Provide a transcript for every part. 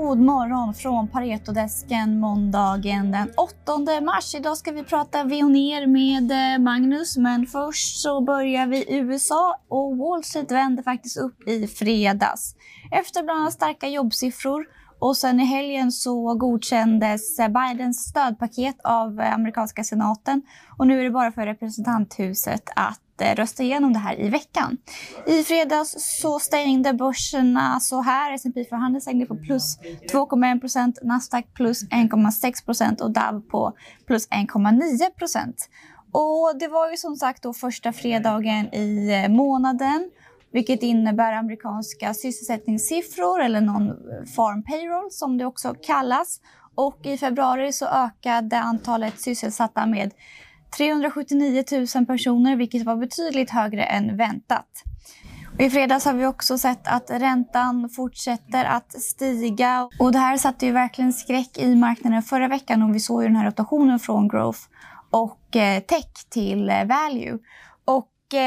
God morgon från Paretodesken måndagen den 8 mars. Idag ska vi prata Veoneer med Magnus, men först så börjar vi i USA och Wall Street vände faktiskt upp i fredags. Efter bland annat starka jobbsiffror och sen i helgen så godkändes Bidens stödpaket av amerikanska senaten och nu är det bara för representanthuset att rösta igenom det här i veckan. I fredags så stängde börserna så här. S&P 500 stängde på plus 2,1%, Nasdaq plus 1,6% och Dow på plus 1,9%. Och det var ju som sagt då första fredagen i månaden, vilket innebär amerikanska sysselsättningssiffror eller non-farm payroll som det också kallas. Och i februari så ökade antalet sysselsatta med 379 000 personer, vilket var betydligt högre än väntat. Och i fredags har vi också sett att räntan fortsätter att stiga. Och det här satte ju verkligen skräck i marknaden förra veckan och vi såg ju den här rotationen från growth och tech till value. Och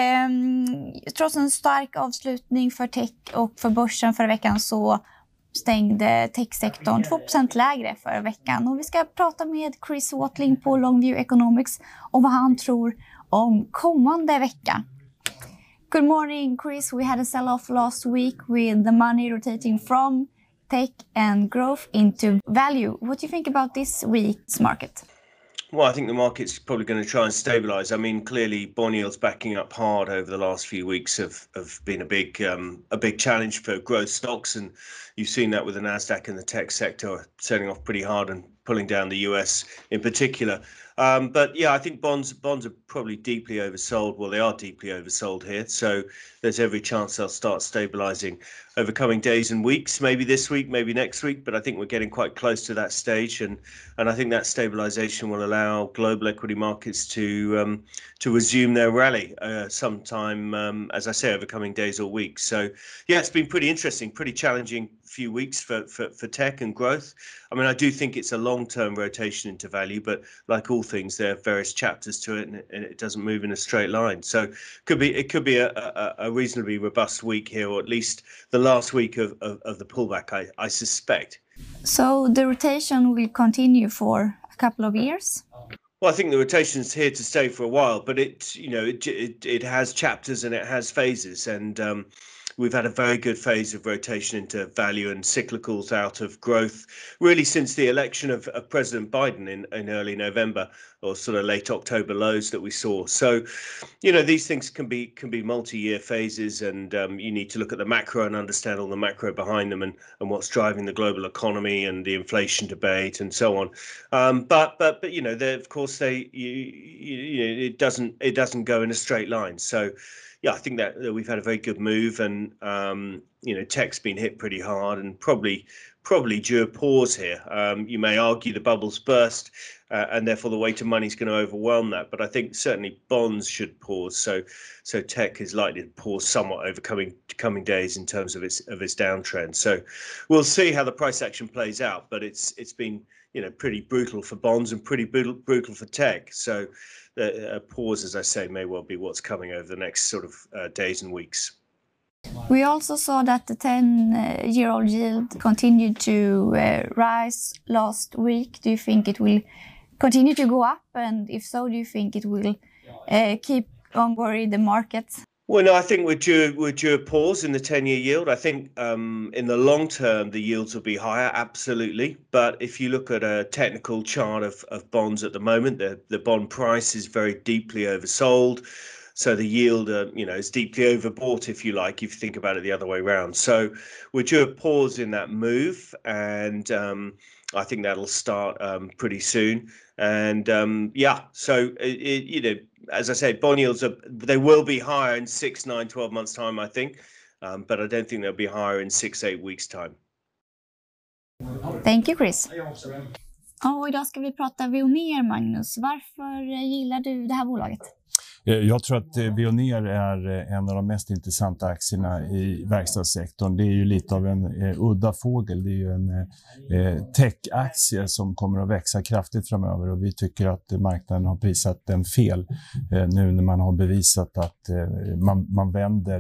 trots en stark avslutning för tech och för börsen förra veckan så stängde techsektorn 2% lägre förra veckan. Och vi ska prata med Chris Watling på Longview Economics om vad han tror om kommande vecka. Good morning, Chris. We had a sell-off last week with the money rotating from tech and growth into value. What do you think about this week's market? Well, I think the market's probably going to try and stabilise. I mean, clearly, bond yields backing up hard over the last few weeks have been a big challenge for growth stocks, and you've seen that with the Nasdaq and the tech sector selling off pretty hard and pulling down the US in particular. But yeah, I think bonds are probably deeply oversold. Well, they are deeply oversold here, so there's every chance they'll start stabilising over coming days and weeks. Maybe this week, maybe next week, but I think we're getting quite close to that stage, and I think that stabilisation will allow global equity markets to resume their rally sometime, as I say, over coming days or weeks. So yeah, it's been pretty interesting, pretty challenging few weeks for tech and growth. I mean, I do think it's a long-term rotation into value, but like all things, there are various chapters to it, and it doesn't move in a straight line. So it could be a reasonably robust week here, or at least the last week of the pullback, I suspect. So the rotation will continue for a couple of years? Well, I think the rotation's here to stay for a while, but it has chapters and it has phases, and we've had a very good phase of rotation into value and cyclicals out of growth, really since the election of President Biden in early November, or sort of late October lows that we saw. So, these things can be multi-year phases, and you need to look at the macro and understand all the macro behind them and what's driving the global economy and the inflation debate and so on. But of course it doesn't go in a straight line. So yeah, I think that we've had a very good move, and tech's been hit pretty hard, and probably due a pause here. You may argue the bubble's burst, and therefore the weight of money is going to overwhelm that. But I think certainly bonds should pause. So tech is likely to pause somewhat over coming days in terms of its downtrend. So we'll see how the price action plays out. But it's been pretty brutal for bonds and pretty brutal for tech. So a pause, as I say, may well be what's coming over the next sort of days and weeks. We also saw that the 10-year-old yield continued to rise last week. Do you think it will continue to go up? And if so, do you think it will keep on worrying the market? Well, no, I think we're due a pause in the 10-year yield. I think in the long term, the yields will be higher, absolutely. But if you look at a technical chart of bonds at the moment, the bond price is very deeply oversold. So the yield, is deeply overbought, if you like, if you think about it the other way around. So we're due a pause in that move, and I think that'll start pretty soon. And so as I say, bond yields they will be higher in 6, 9, 12 months time, I think, but I don't think they'll be higher in 6-8 weeks time. Thank you, Chris. Och idag ska vi prata Veoneer, Magnus. Varför gillar du det här bolaget? Jag tror att Veoneer är en av de mest intressanta aktierna i verkstadssektorn. Det är ju lite av en udda fågel. Det är ju en tech-aktie som kommer att växa kraftigt framöver, och vi tycker att marknaden har prisat den fel nu när man har bevisat att man vänder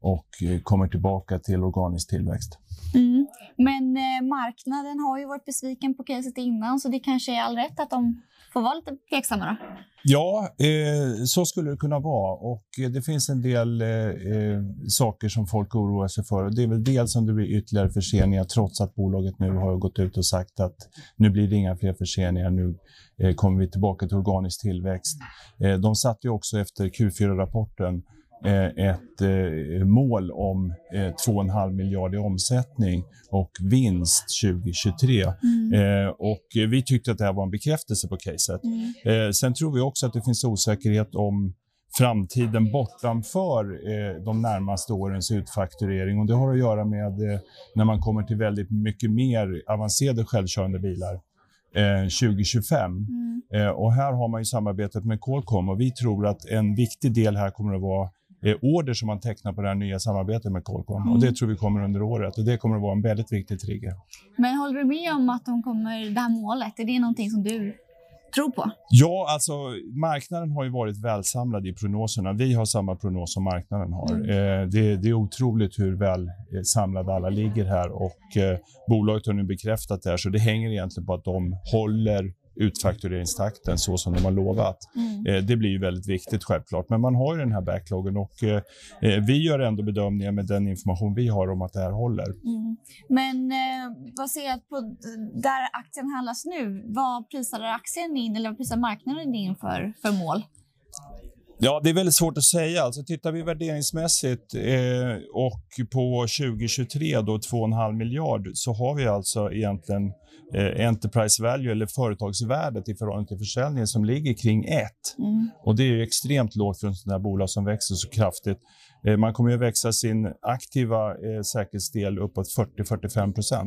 och kommer tillbaka till organisk tillväxt. Mm. Men marknaden har ju varit besviken på caset innan, så det kanske är all rätt att de får vara lite tveksamma då? Ja, så skulle det kunna vara, och det finns en del saker som folk oroar sig för. Det är väl dels om det blir ytterligare förseningar, trots att bolaget nu har gått ut och sagt att nu blir det inga fler förseningar, nu kommer vi tillbaka till organisk tillväxt. De satte ju också efter Q4-rapporten ett mål om 2,5 miljarder i omsättning och vinst 2023. Och vi tyckte att det här var en bekräftelse på caset. Sen tror vi också att det finns osäkerhet om framtiden bortanför de närmaste årens utfakturering, och det har att göra med när man kommer till väldigt mycket mer avancerade självkörande bilar 2025. Och här har man ju samarbetat med Qualcomm, och vi tror att en viktig del här kommer att vara order som man tecknar på det här nya samarbetet med Qualcomm. Och det tror vi kommer under året, och det kommer att vara en väldigt viktig trigger. Men håller du med om att de kommer, det här målet, är det någonting som du tror på? Ja, alltså marknaden har ju varit välsamlad i prognoserna. Vi har samma prognos som marknaden har. Det är otroligt hur väl samlade alla ligger här, och bolaget har nu bekräftat det här, så det hänger egentligen på att de håller utfaktureringstakten så som de har lovat. Det blir ju väldigt viktigt självklart, men man har ju den här backloggen, och vi gör ändå bedömningar med den information vi har om att det här håller. Men baserat på där aktien handlas nu, vad prisar aktien in, eller vad prisar marknaden in för mål? Ja, det är väldigt svårt att säga. Alltså, tittar vi värderingsmässigt och på 2023 då 2,5 miljard, så har vi alltså egentligen enterprise value eller företagsvärdet i förhållande till försäljningen som ligger kring 1. Och det är ju extremt lågt för en sån här bolag som växer så kraftigt. Man kommer ju växa sin aktiva säkerhetsdel uppåt 40-45%.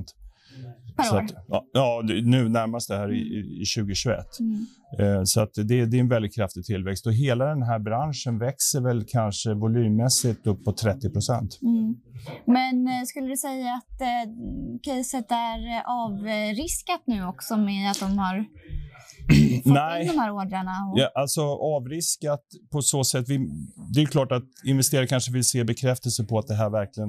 Så att, ja, nu närmast det här i 2021. Så att det är en väldigt kraftig tillväxt, och hela den här branschen växer väl kanske volymmässigt upp på 30%. Men skulle du säga att caset är avriskat nu också med att de har fått in de här ordrarna? Ja, alltså avriskat på så sätt. Det är klart att investerare kanske vill se bekräftelse på att det här verkligen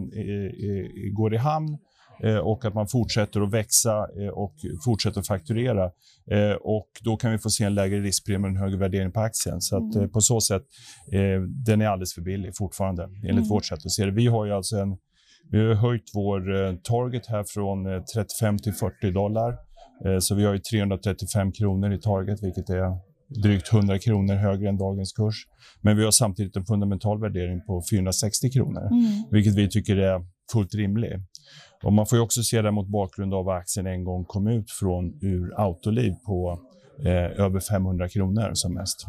går i hamn. Och att man fortsätter att växa och fortsätter att fakturera. Och då kan vi få se en lägre riskpremie och en högre värdering på aktien. Så att på så sätt, den är alldeles för billig fortfarande, enligt vårt sätt att se det. Vi har ju alltså vi har höjt vår target här från 35 till $40. Så vi har ju 335 kronor i target, vilket är drygt 100 kronor högre än dagens kurs. Men vi har samtidigt en fundamental värdering på 460 kronor, vilket vi tycker är fullt rimligt. Och man får ju också se det mot bakgrund av att aktien en gång kom ut ur Autoliv på över 500 kronor som mest.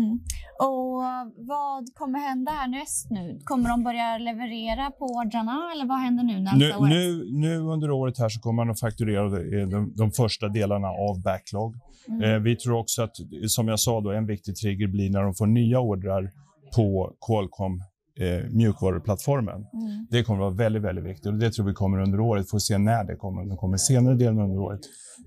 Och vad kommer hända härnäst nu? Kommer de börja leverera på ordrarna, eller vad händer nu nästa år? Nu under året här så kommer man att fakturera de första delarna av backlog. Vi tror också att, som jag sa då, en viktig trigger blir när de får nya ordrar på Qualcomm mjukvaruplattformen. Det kommer att vara väldigt, väldigt viktigt, och det tror vi kommer under året. Får se när det kommer. Det kommer senare delen under året.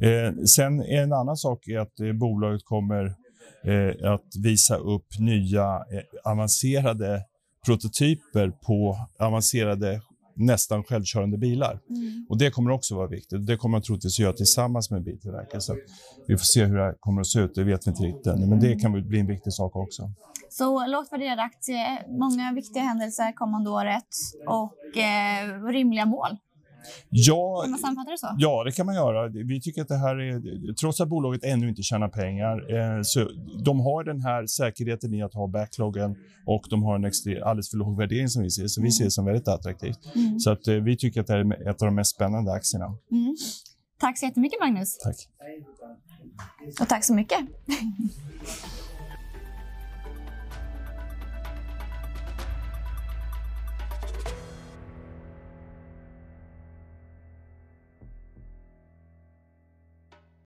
Sen en annan sak är att bolaget kommer att visa upp nya avancerade prototyper på avancerade nästan självkörande bilar. Och det kommer också vara viktigt. Det kommer man troligtvis göra tillsammans med biltillverkare. Så vi får se hur det kommer att se ut. Det vet vi inte riktigt än. Men det kan väl bli en viktig sak också. Så lågt värderad aktie, många viktiga händelser kommande året och rimliga mål. Ja, kan man sammanfatta det så? Ja, det kan man göra. Vi tycker att det här är, trots att bolaget ännu inte tjänar pengar, så de har den här säkerheten i att ha backloggen, och de har en alldeles för låg värdering som vi ser. Så vi ser det som väldigt attraktivt. Så att vi tycker att det är ett av de mest spännande aktierna. Tack så jättemycket, Magnus. Tack. Och tack så mycket.